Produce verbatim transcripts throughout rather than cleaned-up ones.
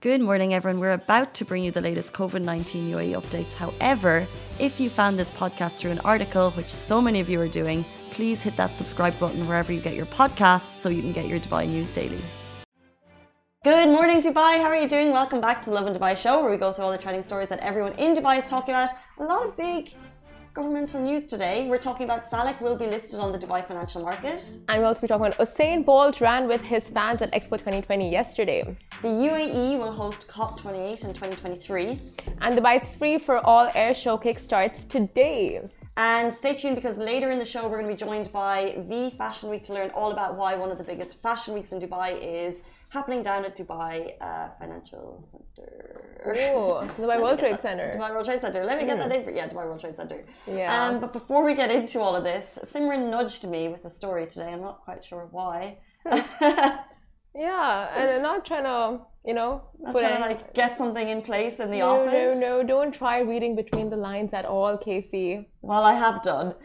Good morning, everyone. We're about to bring you the latest COVID nineteen U A E updates. However, if you found this podcast through an article, which so many of you are doing, please hit that subscribe button wherever you get your podcasts so you can get your Dubai news daily. Good morning, Dubai. How are you doing? Welcome back to the Lovin Dubai show, where we go through all the trending stories that everyone in Dubai is talking about. A lot of big governmental news today. We're talking about Salik will be listed on the Dubai financial market. And we'll also be talking about Usain Bolt ran with his fans at Expo twenty twenty yesterday. The U A E will host COP twenty-eight in twenty twenty-three. And Dubai's Free for All air show kickstarts today. And stay tuned, because later in the show we're going to be joined by V Fashion Week to learn all about why one of the biggest fashion weeks in Dubai is happening down at Dubai uh, Financial Center. Oh, Dubai World Trade Center. Dubai World Trade Center. Let me get mm. that name for Yeah, Dubai World Trade Center. Yeah. Um, but before we get into all of this, Simran nudged me with a story today. I'm not quite sure why. Yeah, and I'm not trying to, you know, not trying to like get something in place in the no, office. No, no, no, don't try reading between the lines at all, Casey. Well, I have done.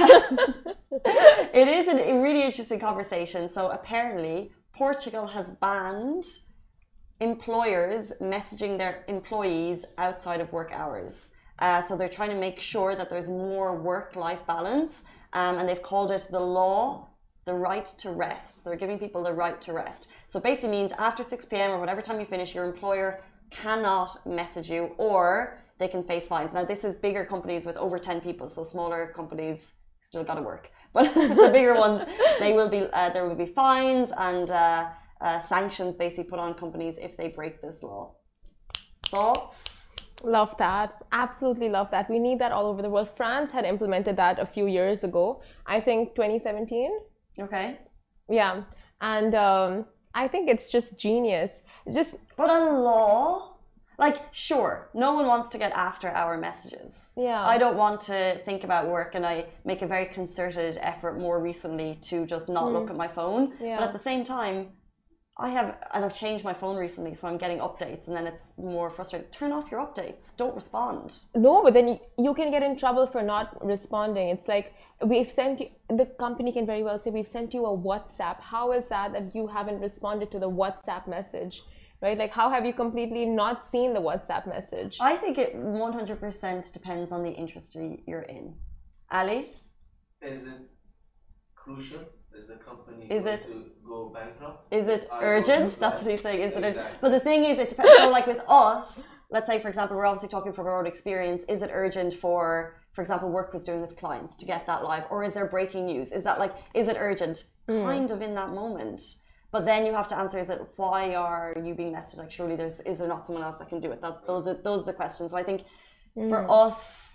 It is a really interesting conversation. So apparently, Portugal has banned employers messaging their employees outside of work hours. Uh, so they're trying to make sure that there's more work-life balance, um, and they've called it the law, the right to rest. They're giving people the right to rest. So basically means after six p m or whatever time you finish, your employer cannot message you, or they can face fines. Now, this is bigger companies with over ten people, so smaller companies still got to work. But the bigger ones, they will be uh, there will be fines and uh, uh, sanctions basically put on companies if they break this law. Thoughts? Love that. Absolutely love that. We need that all over the world. France had implemented that a few years ago. I think twenty seventeen. Okay. Yeah. And um, I think it's just genius. Just But a law? Like, sure, no one wants to get after hour messages. Yeah. I don't want to think about work, and I make a very concerted effort more recently to just not mm. look at my phone. Yeah. But at the same time, I have, and I've changed my phone recently, so I'm getting updates, and then it's more frustrating. Turn off your updates. Don't respond. No, but then you, you can get in trouble for not responding. It's like, we've sent you, the company can very well say, we've sent you a WhatsApp. How is that that you haven't responded to the WhatsApp message? Right? Like, how have you completely not seen the WhatsApp message? I think it one hundred percent depends on the industry you're in. Ali? Is it crucial? Is the company is going it, to go bankrupt? Is it I urgent? That's what he's saying. Is exactly. it urgent? But the thing is, it depends. So, like with us, let's say, for example, we're obviously talking from our own experience. Is it urgent for, for example, work with doing with clients to get that live? Or is there breaking news? Is that like, is it urgent? Mm. Kind of in that moment. But then you have to answer, is it, why are you being messaged? Like, surely there's, is there not someone else that can do it? That's, those are those are the questions. So I think mm. for us,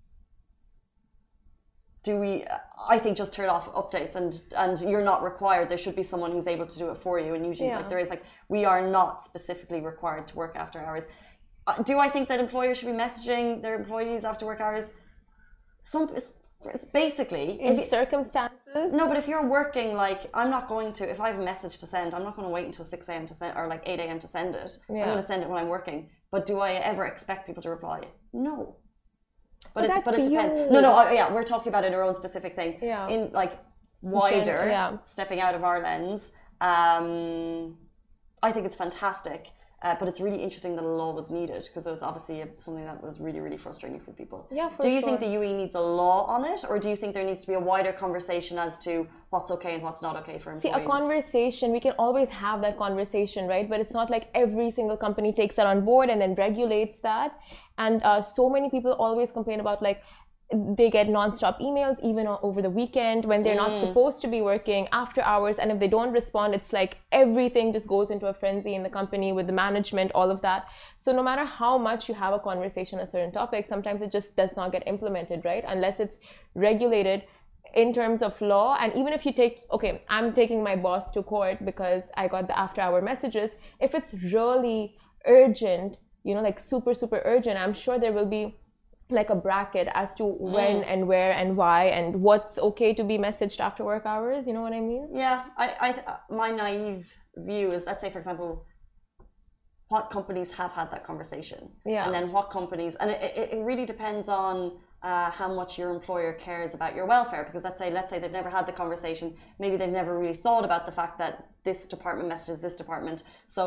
do we, I think just turn off updates, and, and you're not required. There should be someone who's able to do it for you. And usually, yeah. like there is, like, we are not specifically required to work after hours. Uh, do I think that employers should be messaging their employees after work hours? Some, it's basically in if circumstances. No, but if you're working, like, I'm not going to, if I have a message to send, I'm not going to wait until six a m to send, or like eight a m to send it. Yeah. I'm going to send it when I'm working. But do I ever expect people to reply? No. But, but it, but it depends. You. No, no, I, yeah, we're talking about it in our own specific thing. Yeah. In like wider, yeah. stepping out of our lens, um, I think it's fantastic. Uh, but it's really interesting that a law was needed, because it was obviously something that was really, really frustrating for people. Yeah, for do you sure. think the U A E needs a law on it, or do you think there needs to be a wider conversation as to what's okay and what's not okay for employees? See, a conversation, we can always have that conversation, right? But it's not like every single company takes that on board and then regulates that. And uh, so many people always complain about, like, they get non-stop emails even over the weekend when they're mm. not supposed to be working after hours, and if they don't respond, it's like everything just goes into a frenzy in the company with the management, all of that. So no matter how much you have a conversation on a certain topic, sometimes it just does not get implemented, right? Unless it's regulated in terms of law. And even if you take, okay, I'm taking my boss to court because I got the after hour messages. If it's really urgent, you know, like super, super urgent, I'm sure there will be like a bracket as to when mm. and where and why and what's okay to be messaged after work hours. You know what I mean? Yeah, I, I, my naive view is, let's say, for example, what companies have had that conversation, yeah, and then what companies, and it, it, it really depends on uh, how much your employer cares about your welfare. Because let's say, let's say they've never had the conversation, maybe they've never really thought about the fact that this department messages this department. So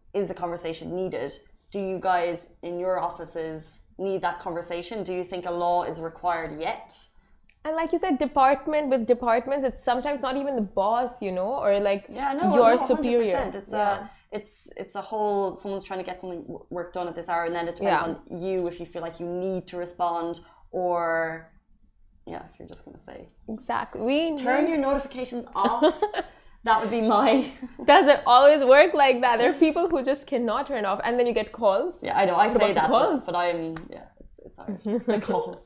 is a conversation needed? Do you guys in your offices need that conversation? Do you think a law is required yet? And like you said, department with departments, it's sometimes not even the boss, you know, or like yeah, no, your no, superior. It's yeah. a, it's it's a whole. Someone's trying to get something work done at this hour, and then it depends Yeah. on you if you feel like you need to respond, or yeah, if you're just going to say Exactly. We turn your notifications off. That would be my. Doesn't always work like that. There are people who just cannot turn off, and then you get calls. Yeah, I know. I say about the that, calls? but, but I'm yeah, it's it's hard. The calls.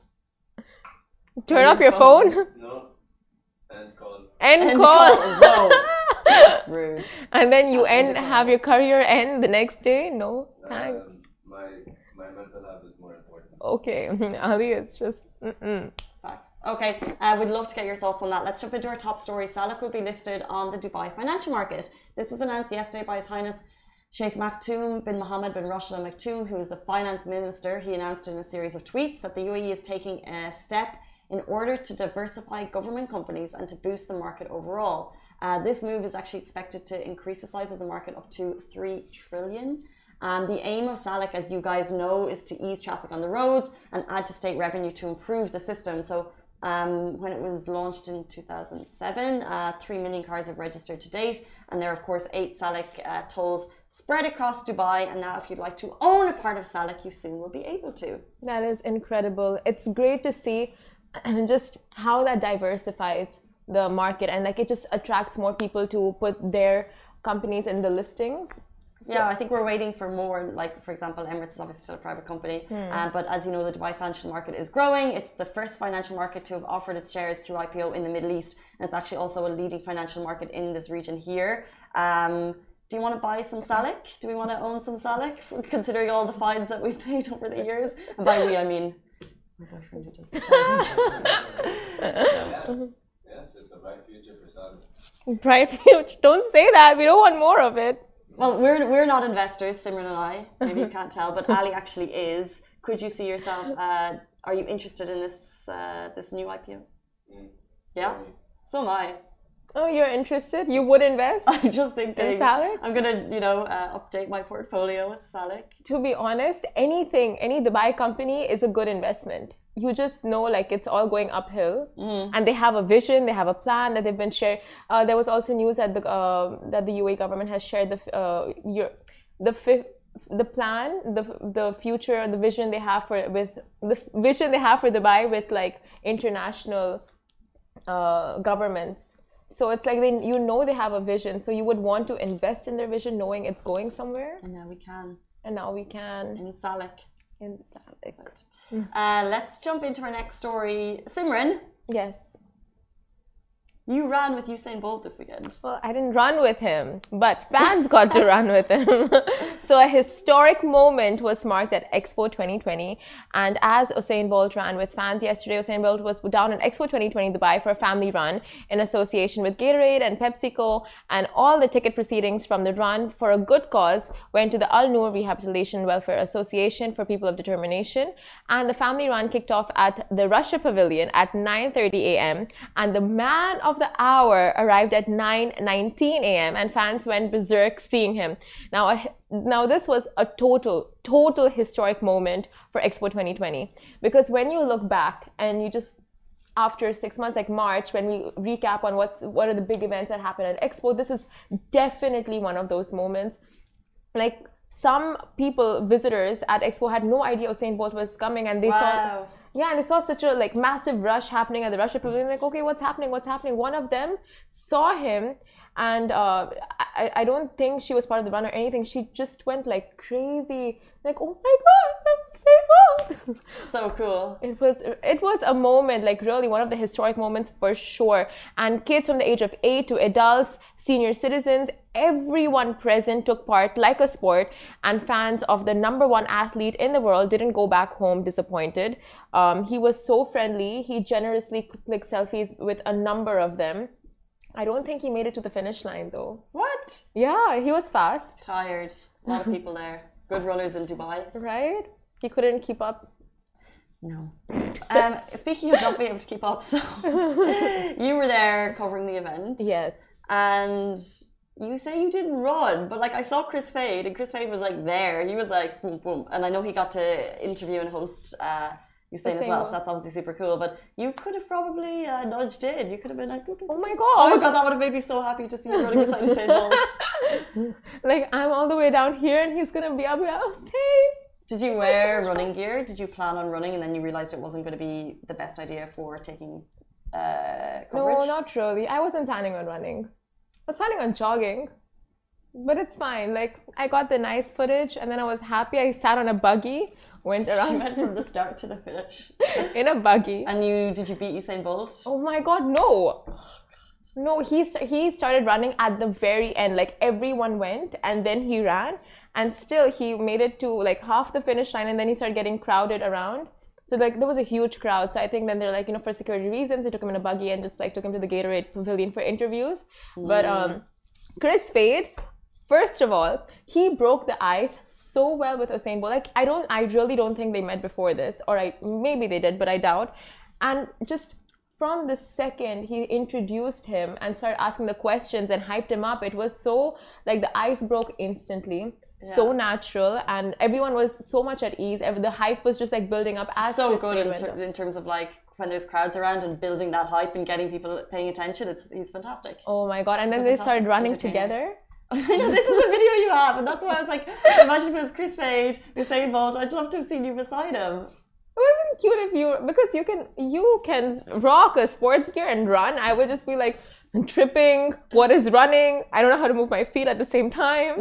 Turn Your off your phone. phone. No. And call. End, End call. call. No, that's rude. And then you End end call. have your career end the next day. No, thanks. Um, my my mental health is more important. Okay, Ali, it's just. Mm-mm. Facts. Okay, uh, we'd love to get your thoughts on that. Let's jump into our top story. Salik will be listed on the Dubai financial market. This was announced yesterday by His Highness Sheikh Maktoum bin Mohammed bin Rashid Al Maktoum, who is the finance minister. He announced in a series of tweets that the U A E is taking a step in order to diversify government companies and to boost the market overall. Uh, this move is actually expected to increase the size of the market up to three trillion. Um, the aim of Salik, as you guys know, is to ease traffic on the roads and add to state revenue to improve the system. So um, when it was launched in two thousand seven, uh, three million cars have registered to date. And there are, of course, eight Salik uh, tolls spread across Dubai. And now if you'd like to own a part of Salik, you soon will be able to. That is incredible. It's great to see just how that diversifies the market, and like it just attracts more people to put their companies in the listings. Yeah, I think we're waiting for more. Like, for example, Emirates is obviously still a private company. Hmm. Um, but as you know, the Dubai financial market is growing. It's the first financial market to have offered its shares through I P O in the Middle East. And it's actually also a leading financial market in this region here. Um, do you want to buy some Salik? Do we want to own some Salik, considering all the fines that we've paid over the years? And by we, I mean my boyfriend who does the Yes. Yes, it's a bright future for Salik. Bright future. Don't say that. We don't want more of it. Well, we're we're not investors, Simran and I. Maybe you can't tell, but Ali actually is. Could you see yourself? Uh, are you interested in this uh, this new I P O? Mm. Yeah, so am I. Oh, you're interested? You would invest I'm just thinking. in Salik? I'm gonna, you know, uh, update my portfolio with Salik. To be honest, anything, any Dubai company is a good investment. You just know like it's all going uphill, Mm. and they have a vision, they have a plan that they've been shared. Uh, there was also news that the uh, that the U A E government has shared the uh, your, the fifth. The plan, the the future, the vision they have for with the vision they have for Dubai with like international uh, governments. So it's like they, you know, they have a vision. So you would want to invest in their vision, knowing it's going somewhere. And now we can And now we can in Salik. in Salik. Uh, let's jump into our next story. Simran, Yes. you ran with Usain Bolt this weekend. Well, I didn't run with him, but fans got to run with him. So a historic moment was marked at Expo twenty twenty. And as Usain Bolt ran with fans yesterday, Usain Bolt was down at Expo twenty twenty Dubai for a family run in association with Gatorade and PepsiCo. And all the ticket proceedings from the run for a good cause went to the Al Noor Rehabilitation Welfare Association for People of Determination. And the family run kicked off at the Russia Pavilion at nine thirty a m And the man of the hour arrived at nine nineteen a m and fans went berserk seeing him. Now, now this was a total, total historic moment for Expo twenty twenty, because when you look back and you just after six months, like March, when we recap on what's what are the big events that happened at Expo, this is definitely one of those moments. Like some people, visitors at Expo, had no idea Usain Bolt was coming, and they Wow. saw. Yeah, and they saw such a like massive rush happening at the Russia Pavilion. Like, okay, what's happening? What's happening? One of them saw him, and uh, I, I don't think she was part of the run or anything. She just went like crazy, like, oh my God, I'm Usain Bolt. So cool. It was it was a moment, like really one of the historic moments for sure. And kids from the age of eight to adults, senior citizens, everyone present took part like a sport, and fans of the number one athlete in the world didn't go back home disappointed. Um, he was so friendly. He generously clicked selfies with a number of them. I don't think he made it to the finish line though. What? Yeah, he was fast. Tired. A lot of people there. Good runners in Dubai. Right? He couldn't keep up. No. Um, speaking of not being able to keep up, so you were there covering the event. Yes. And you say you didn't run, but like I saw Chris Fade, and Chris Fade was like there. He was like boom, boom, and I know he got to interview and host uh, Usain as well, so that's obviously super cool. But you could have probably uh, nudged in. You could have been like, doo, doo, doo. Oh my god! Oh my god, that would have made me so happy to see you running beside Usain Bolt. Like I'm all the way down here, and he's gonna be up here. Oh, hey. Did you wear running gear? Did you plan on running, and then you realized it wasn't going to be the best idea for taking uh, coverage? No, not really. I wasn't planning on running. I was planning on jogging, but it's fine. Like I got the nice footage, and then I was happy. I sat on a buggy, went around. You went from the start to the finish in a buggy. And you did you beat Usain Bolt? Oh my god, no! Oh, no, he st he started running at the very end. Like everyone went, and then he ran, and still he made it to like half the finish line, and then he started getting crowded around. So like there was a huge crowd. So I think then they're like, you know, for security reasons, they took him in a buggy and just like took him to the Gatorade Pavilion for interviews. Mm. But um, Chris Fade, first of all, he broke the ice so well with Usain Bolt. Like I don't, I really don't think they met before this, or I maybe they did, but I doubt. And just from the second he introduced him and started asking the questions and hyped him up, it was so like the ice broke instantly. Yeah. So natural, and everyone was so much at ease. The hype was just like building up as so good in, ter in terms of like when there's crowds around and building that hype and getting people paying attention. It's he's fantastic. Oh my god! And then they started running together. I know, this is a video you have, and that's why I was like, imagine if it was Chris Fade, Usain Bolt. I'd love to have seen you beside him. It would have been cute if you, because you can you can rock a sports gear and run. I would just be like tripping. What is running? I don't know how to move my feet at the same time.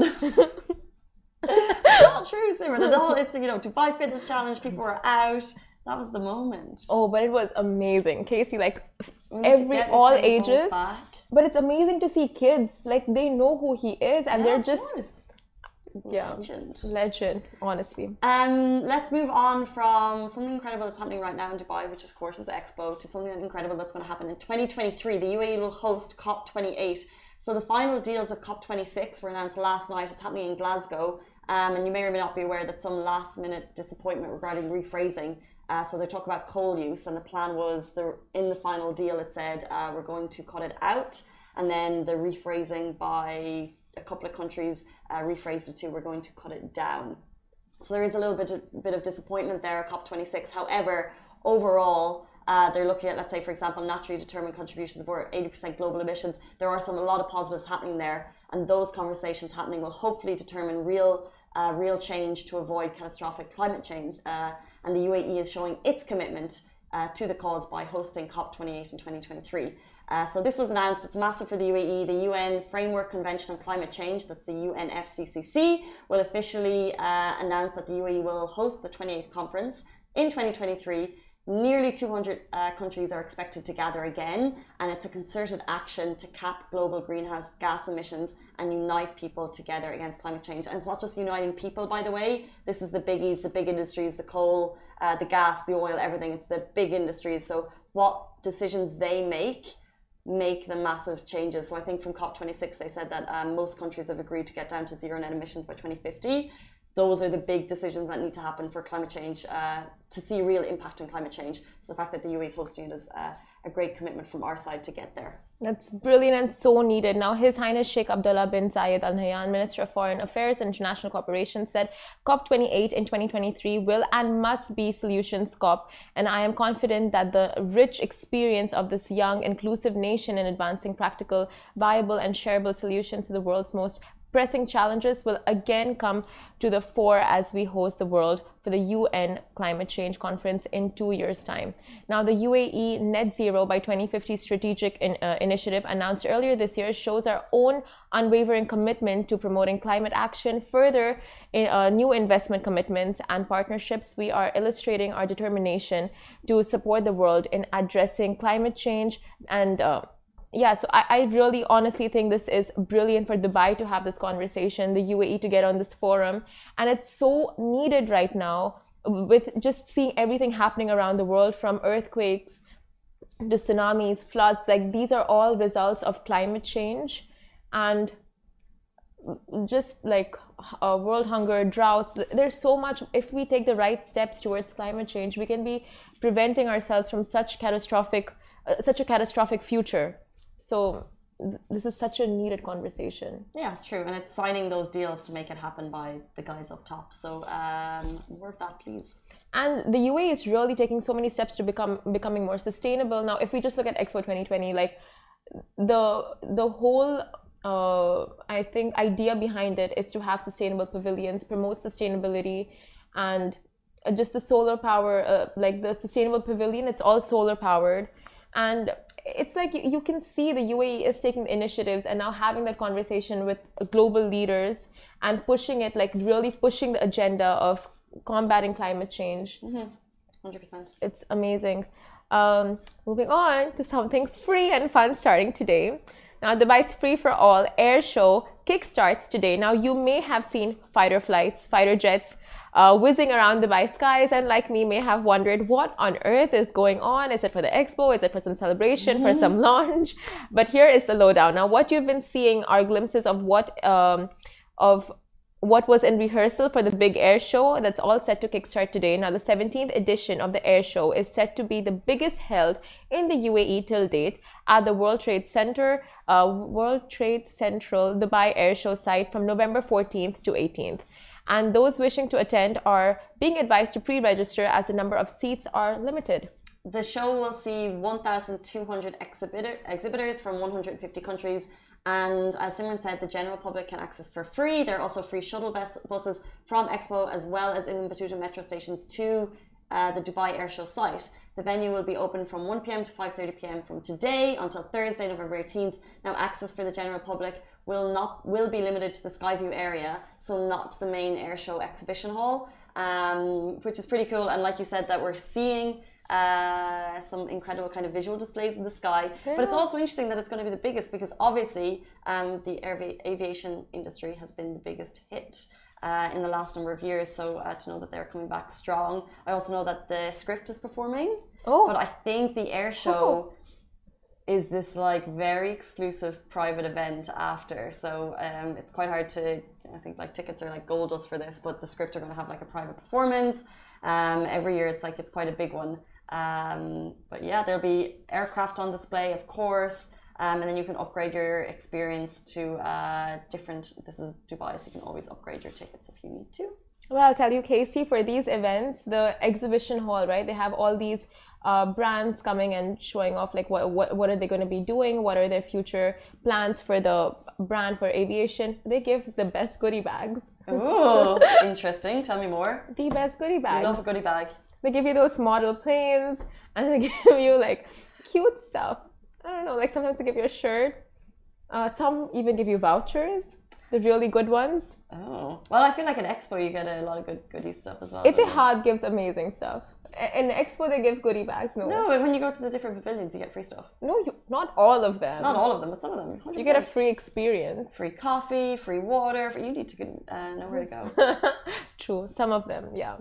It's not true, Simran. The whole, it's, you know, Dubai Fitness Challenge, people were out. That was the moment. Oh, but it was amazing. Casey, like every, all ages. But it's amazing to see kids, like they know who he is, and yeah, they're just, course. yeah, legend. Legend, honestly. Um, let's move on from something incredible that's happening right now in Dubai, which of course is Expo, to something incredible that's going to happen in twenty twenty-three. The U A E will host COP twenty-eight. So the final deals of COP twenty-six were announced last night. It's happening in Glasgow. Um, and you may or may not be aware that some last minute disappointment regarding rephrasing. Uh, so they talk about coal use, and the plan was the, in the final deal it said uh, we're going to cut it out, and then the rephrasing by a couple of countries uh, rephrased it to we're going to cut it down. So there is a little bit of, bit of disappointment there at COP twenty-six. However, overall, Uh, they're looking at, let's say, for example, naturally determined contributions of over eighty percent global emissions. There are some a lot of positives happening there, and those conversations happening will hopefully determine real, uh, real change to avoid catastrophic climate change. Uh, and the U A E is showing its commitment uh, to the cause by hosting COP twenty-eight in twenty twenty-three. Uh, so this was announced. It's massive for the U A E. The U N Framework Convention on Climate Change, that's the U N F C C C, will officially uh, announce that the U A E will host the twenty-eighth conference in twenty twenty-three. Nearly two hundred uh, countries are expected to gather again, and it's a concerted action to cap global greenhouse gas emissions and unite people together against climate change. And it's not just uniting people, by the way. This is the biggies, the big industries, the coal, uh, the gas, the oil, everything. It's the big industries. So what decisions they make make the massive changes. So I think from COP twenty-six, they said that um, most countries have agreed to get down to zero net emissions by twenty fifty. Those are the big decisions that need to happen for climate change, uh, to see real impact on climate change. So the fact that the U A E is hosting it is uh, a great commitment from our side to get there. That's brilliant and so needed. Now, His Highness Sheikh Abdullah bin Zayed Al Nahyan, Minister of Foreign Affairs and International Cooperation, said COP twenty-eight in twenty twenty-three will and must be Solutions COP. And I am confident that the rich experience of this young, inclusive nation in advancing practical, viable and shareable solutions to the world's most pressing challenges will again come to the fore as we host the world for the U N Climate Change Conference in two years' time. Now, the U A E Net Zero by twenty fifty strategic in, uh, initiative announced earlier this year shows our own unwavering commitment to promoting climate action. Further, in uh, new investment commitments and partnerships, we are illustrating our determination to support the world in addressing climate change. And uh, yeah, so I, I really honestly think this is brilliant for Dubai to have this conversation, the U A E to get on this forum. And it's so needed right now with just seeing everything happening around the world, from earthquakes to tsunamis, floods. Like these are all results of climate change. And just like uh, world hunger, droughts, there's so much. If we take the right steps towards climate change, we can be preventing ourselves from such catastrophic, uh, such a catastrophic future. So th- this is such a needed conversation. Yeah, true. And it's signing those deals to make it happen by the guys up top. So um, more of that, please. And the U A E is really taking so many steps to become becoming more sustainable. Now, if we just look at Expo twenty twenty, like the the whole uh, I think idea behind it is to have sustainable pavilions, promote sustainability, and just the solar power, uh, like the sustainable pavilion. It's all solar powered, and it's like you, you can see the U A E is taking initiatives and now having that conversation with global leaders and pushing it, like really pushing the agenda of combating climate change. Mm-hmm. one hundred percent. It's amazing. Um, moving on to something free and fun starting today. Now, Dubai's Free for All air show kickstarts today. Now, you may have seen fighter flights, fighter jets uh, whizzing around Dubai skies, and like me, may have wondered what on earth is going on. Is it for the expo? Is it for some celebration, mm-hmm. for some launch? But here is the lowdown. Now, what you've been seeing are glimpses of what um, of what was in rehearsal for the big air show that's all set to kickstart today. Now, the seventeenth edition of the air show is set to be the biggest held in the U A E till date at the World Trade Center, uh, World Trade Central Dubai Air Show site from November fourteenth to eighteenth. And those wishing to attend are being advised to pre-register as the number of seats are limited. The show will see one thousand two hundred exhibitor, exhibitors from one hundred fifty countries. And as Simran said, the general public can access for free. There are also free shuttle bus buses from Expo as well as Ibn Battuta metro stations to uh, the Dubai Air Show site. The venue will be open from one p m to five thirty p m from today until Thursday, November eighteenth. Now, access for the general public will not will be limited to the Skyview area, so not the main air show exhibition hall, um, which is pretty cool. And like you said, that we're seeing uh, some incredible kind of visual displays in the sky. Yeah. But it's also interesting that it's going to be the biggest because obviously um, the air- aviation industry has been the biggest hit uh, in the last number of years. So uh, to know that they're coming back strong. I also know that the script is performing. Oh. But I think the air show oh. is this like very exclusive private event after. So um, it's quite hard to, I think like tickets are like gold dust for this, but the script are going to have like a private performance. Um, every year it's like, it's quite a big one. Um, but yeah, there'll be aircraft on display, of course. Um, and then you can upgrade your experience to uh, different, this is Dubai, so you can always upgrade your tickets if you need to. Well, I'll tell you, Casey, for these events, the exhibition hall, right, they have all these uh, brands coming and showing off like what, what, what are they going to be doing, what are their future plans for the brand for aviation. They give the best goodie bags. Oh, interesting. Tell me more. The best goodie bags. I love a goodie bag. They give you those model planes and they give you like cute stuff. I don't know, like sometimes they give you a shirt. Uh, some even give you vouchers, the really good ones. Oh, well, I feel like at Expo you get a lot of good goodie stuff as well. Etihad gives amazing stuff. In Expo they give goodie bags. No, no, when you go to the different pavilions you get free stuff. No, you, not all of them. Not all of them, but some of them. one hundred percent. You get a free experience. Free coffee, free water. For, you need to uh, know where to go. True, some of them, yeah.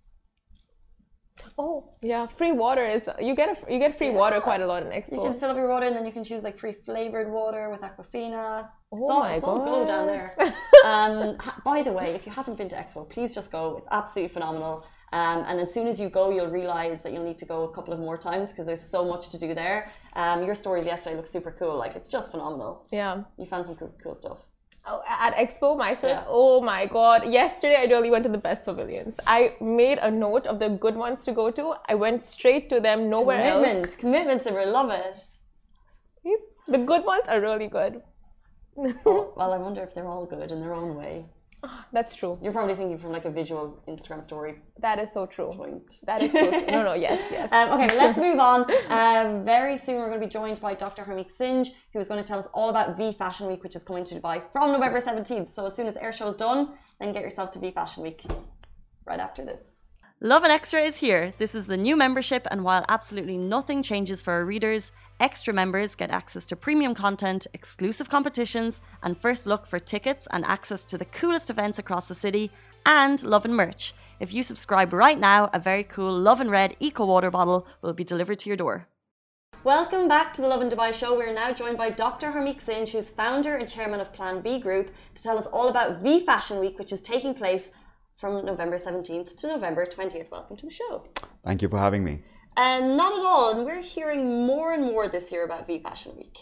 Oh yeah, free water is you get a you get free yeah. water quite a lot in Expo. You can fill up your water and then you can choose like free flavored water with Aquafina. Oh it's all, my it's God. all gold down there. um, by the way, if you haven't been to Expo, please just go. It's absolutely phenomenal. Um, and as soon as you go, you'll realize that you'll need to go a couple of more times because there's so much to do there. Um, your stories yesterday look super cool. Like it's just phenomenal. Yeah, you found some cool, cool stuff. Oh, at Expo, my story. Yeah. Oh my God! Yesterday, I really went to the best pavilions. I made a note of the good ones to go to. I went straight to them, nowhere Commitment. else. Commitment, Simran, love it. The good ones are really good. Oh, well, I wonder if they're all good in their own way. That's true. You're probably thinking from like a visual Instagram story. That is so true. Point. That is so true. No, no, yes, yes. Um, okay, let's move on. Uh, very soon we're going to be joined by Doctor Harmeek Singh, who is going to tell us all about V Fashion Week, which is coming to Dubai from November seventeenth. So as soon as air show is done, then get yourself to V Fashion Week right after this. Lovin Extra is here. This is the new membership, and while absolutely nothing changes for our readers, extra members get access to premium content, exclusive competitions, and first look for tickets and access to the coolest events across the city, and Lovin merch. If you subscribe right now, a very cool Lovin Red Eco Water bottle will be delivered to your door. Welcome back to the Lovin Dubai show. We're now joined by Doctor Harmeek Singh, who's founder and chairman of Plan B Group, to tell us all about V Fashion Week, which is taking place from November seventeenth to November twentieth. Welcome to the show. Thank you for having me. And uh, not at all. And we're hearing more and more this year about V Fashion Week.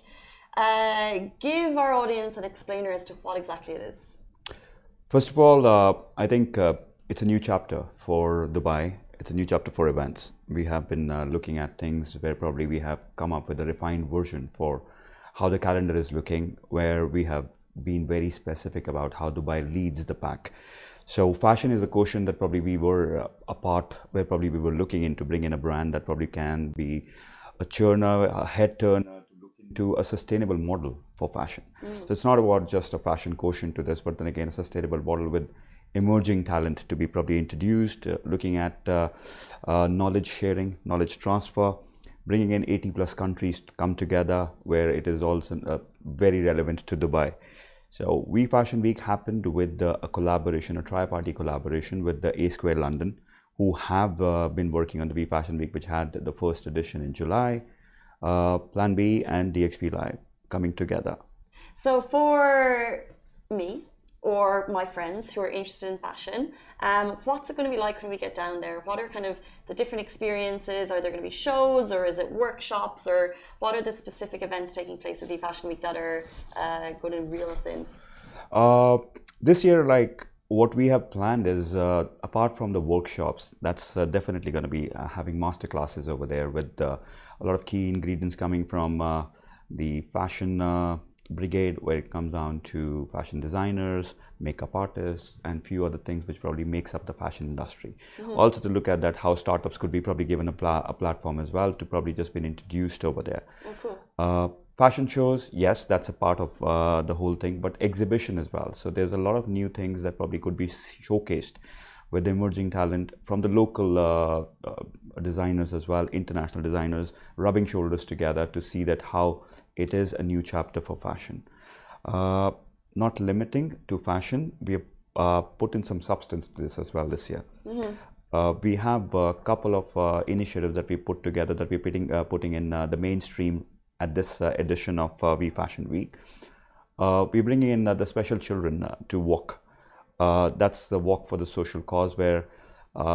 Uh, give our audience an explainer as to what exactly it is. First of all, uh, I think uh, it's a new chapter for Dubai. It's a new chapter for events. We have been uh, looking at things where probably we have come up with a refined version for how the calendar is looking, where we have been very specific about how Dubai leads the pack. So fashion is a quotient that probably we were uh, a part where probably we were looking into bring in a brand that probably can be a churner, a head turner to look into a sustainable model for fashion. Mm. So it's not about just a fashion quotient to this, but then again a sustainable model with emerging talent to be probably introduced, uh, looking at uh, uh, knowledge sharing, knowledge transfer, bringing in eighty plus countries to come together where it is also uh, very relevant to Dubai. So We Fashion Week happened with uh, a collaboration, a tri-party collaboration with the A Square London, who have uh, been working on the We Fashion Week, which had the first edition in July, uh, Plan B and D X P Live coming together. So for me, or my friends who are interested in fashion, um, what's it going to be like when we get down there? What are kind of the different experiences? Are there going to be shows, or is it workshops, or what are the specific events taking place at V Fashion Week that are uh, going to reel us in? Uh, this year, like what we have planned is, uh, apart from the workshops, that's uh, definitely going to be uh, having master classes over there with uh, a lot of key ingredients coming from uh, the fashion uh, brigade, where it comes down to fashion designers, makeup artists, and few other things which probably makes up the fashion industry. Mm-hmm. Also to look at that how startups could be probably given a, pla a platform as well to probably just been introduced over there. Oh, cool. Uh, fashion shows, yes, that's a part of uh, the whole thing, but exhibition as well. So there's a lot of new things that probably could be showcased with emerging talent from the local uh, uh, designers as well, international designers, rubbing shoulders together to see that how it is a new chapter for fashion. Uh, not limiting to fashion, we have uh, put in some substance to this as well this year. Mm-hmm. uh, we have a couple of uh, initiatives that we put together that we're putting, uh, putting in uh, the mainstream at this uh, edition of uh, We Fashion Week. Uh, we're bringing in uh, the special children uh, to walk. Uh, that's the walk for the social cause, where uh,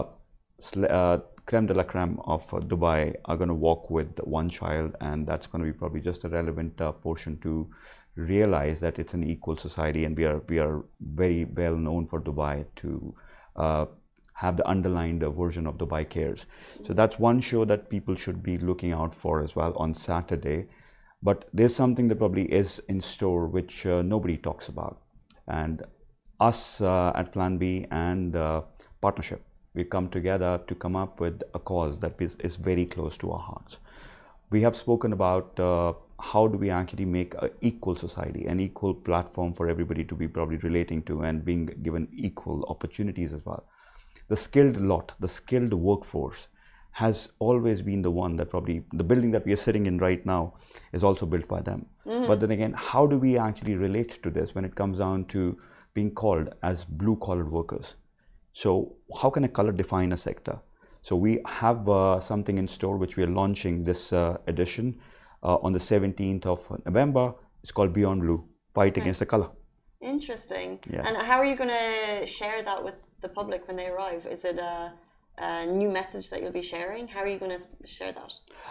uh, creme de la creme of uh, Dubai are going to walk with one child, and that's going to be probably just a relevant uh, portion to realize that it's an equal society, and we are we are very well known for Dubai to uh, have the underlined uh, version of Dubai Cares. So that's one show that people should be looking out for as well on Saturday. But there's something that probably is in store which uh, nobody talks about, and us uh, at Plan B and uh, partnership, we come together to come up with a cause that is, is very close to our hearts. We have spoken about uh, how do we actually make an equal society, an equal platform for everybody to be probably relating to and being given equal opportunities as well. The skilled lot, the skilled workforce has always been the one that probably, the building that we are sitting in right now is also built by them. Mm-hmm. But then again, how do we actually relate to this when it comes down to being called as blue-collar workers? So how can a color define a sector? So we have uh, something in store which we are launching this uh, edition uh, on the seventeenth of November. It's called Beyond Blue, Fight okay. Against the Color. Interesting. Yeah. And how are you going to share that with the public when they arrive? Is it a, a new message that you'll be sharing? How are you going to share that?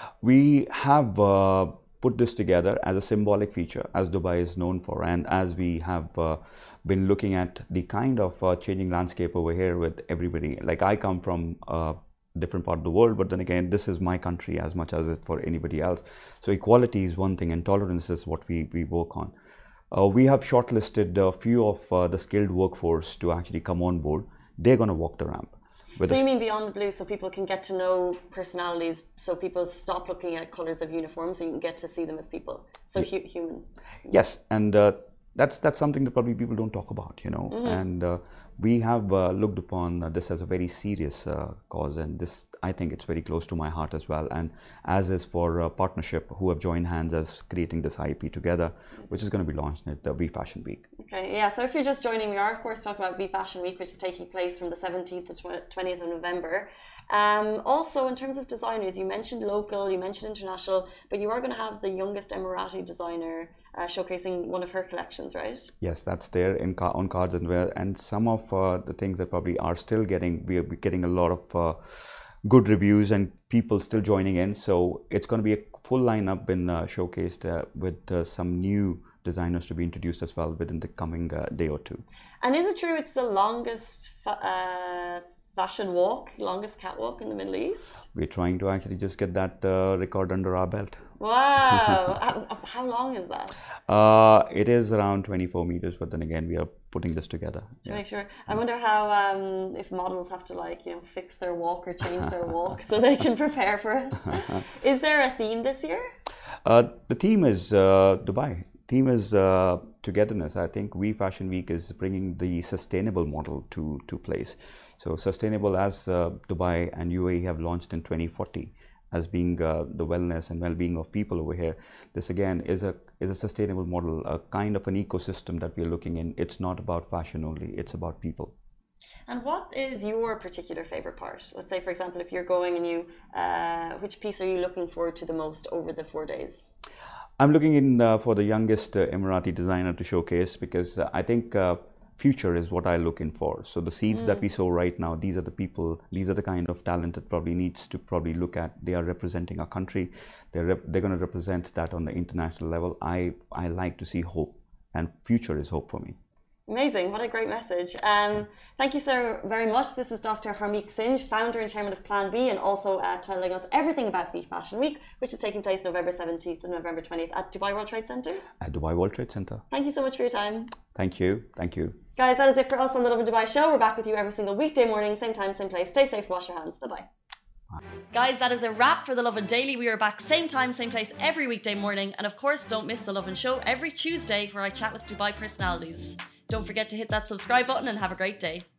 We have uh, put this together as a symbolic feature, as Dubai is known for, and as we have uh, been looking at the kind of uh, changing landscape over here with everybody. Like, I come from a different part of the world, but then again, this is my country as much as it for anybody else. So equality is one thing, and tolerance is what we, we work on. Uh, we have shortlisted a few of uh, the skilled workforce to actually come on board. They're going to walk the ramp. So you mean Beyond the Blue, so people can get to know personalities, so people stop looking at colors of uniforms and you can get to see them as people, so hu human. Yes, and uh, that's that's something that probably people don't talk about, you know. Mm-hmm. And uh, we have uh, looked upon uh, this as a very serious uh, cause, and this, I think it's very close to my heart as well, and as is for uh, partnership, who have joined hands as creating this I P together, which is going to be launched at the V Fashion Week. Okay, yeah, so if you're just joining, we are of course talking about V Fashion Week, which is taking place from the seventeenth to twentieth of November. Um, also, in terms of designers, you mentioned local, you mentioned international, but you are going to have the youngest Emirati designer uh, showcasing one of her collections, right? Yes, that's there in on cards and wear, and some of uh, the things that probably are still getting, we are getting a lot of uh, good reviews and people still joining in. So it's going to be a full lineup been uh, showcased uh, with uh, some new designers to be introduced as well within the coming uh, day or two. And is it true it's the longest fa- uh, fashion walk, longest catwalk in the Middle East? We're trying to actually just get that uh, record under our belt. Wow! how, how long is that? Uh, it is around twenty-four meters, but then again, we are putting this together. To yeah. make sure. I wonder how, um, if models have to like, you know, fix their walk or change their walk so they can prepare for it. Is there a theme this year? Uh, the theme is uh, Dubai. Theme is uh, togetherness. I think We Fashion Week is bringing the sustainable model to, to place. So sustainable as uh, Dubai and U A E have launched in twenty forty as being uh, the wellness and well-being of people over here. This again is a is a sustainable model, a kind of an ecosystem that we're looking in. It's not about fashion only, it's about people. And what is your particular favorite part? Let's say, for example, if you're going and you, uh, which piece are you looking forward to the most over the four days? I'm looking in uh, for the youngest uh, Emirati designer to showcase, because uh, I think uh, future is what I look in for. So the seeds mm. that we sow right now, these are the people, these are the kind of talent that probably needs to probably look at. They are representing our country. They're rep they're going to represent that on the international level. I I like to see hope, and future is hope for me. Amazing. What a great message. Um, thank you so very much. This is Doctor Harmeek Singh, founder and chairman of Plan B, and also uh, telling us everything about V Fashion Week, which is taking place November seventeenth and November twentieth at Dubai World Trade Center. At Dubai World Trade Center. Thank you so much for your time. Thank you. Thank you. Guys, that is it for us on the Lovin Dubai show. We're back with you every single weekday morning, same time, same place. Stay safe, wash your hands. Bye-bye. Guys, that is a wrap for the Lovin Daily. We are back same time, same place every weekday morning. And of course, don't miss the Lovin Show every Tuesday where I chat with Dubai personalities. Don't forget to hit that subscribe button and have a great day.